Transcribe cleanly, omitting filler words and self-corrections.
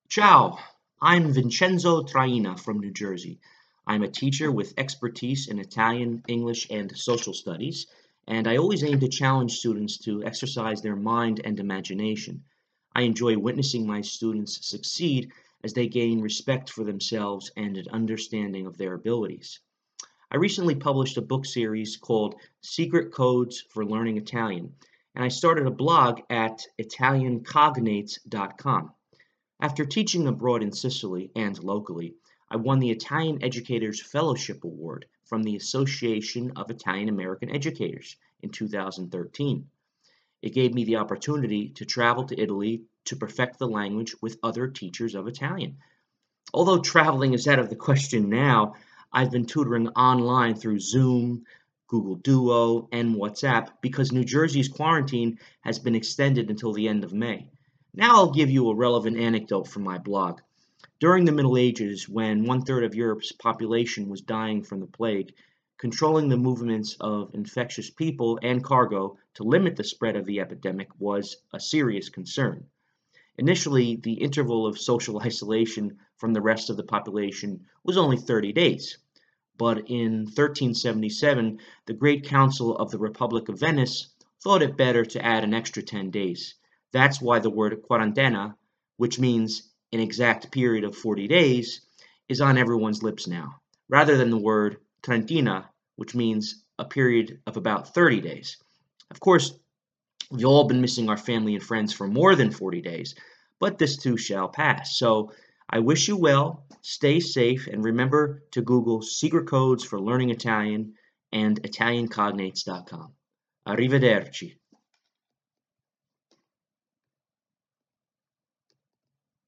Ciao, I'm Vincenzo Traina from New Jersey. I'm a teacher with expertise in Italian, English, and social studies, and I always aim to challenge students to exercise their mind and imagination. I enjoy witnessing my students succeed as they gain respect for themselves and an understanding of their abilities. I recently published a book series called Secret Codes for Learning Italian, and I started a blog at ItalianCognates.com. After teaching abroad in Sicily and locally, I won the Italian Educators Fellowship Award from the Association of Italian American Educators in 2013. It gave me the opportunity to travel to Italy to perfect the language with other teachers of Italian. Although traveling is out of the question now, I've been tutoring online through Zoom, Google Duo, and WhatsApp because New Jersey's quarantine has been extended until the end of May. Now I'll give you a relevant anecdote from my blog. During the Middle Ages, when one third of Europe's population was dying from the plague, controlling the movements of infectious people and cargo to limit the spread of the epidemic was a serious concern. Initially, the interval of social isolation from the rest of the population was only 30 days. But in 1377, the Great Council of the Republic of Venice thought it better to add an extra 10 days. That's why the word quarantena, which means an exact period of 40 days, is on everyone's lips now, rather than the word trentina, which means a period of about 30 days. Of course, we've all been missing our family and friends for more than 40 days, but this too shall pass. So I wish you well, stay safe, and remember to Google secret codes for learning Italian and ItalianCognates.com. Arrivederci.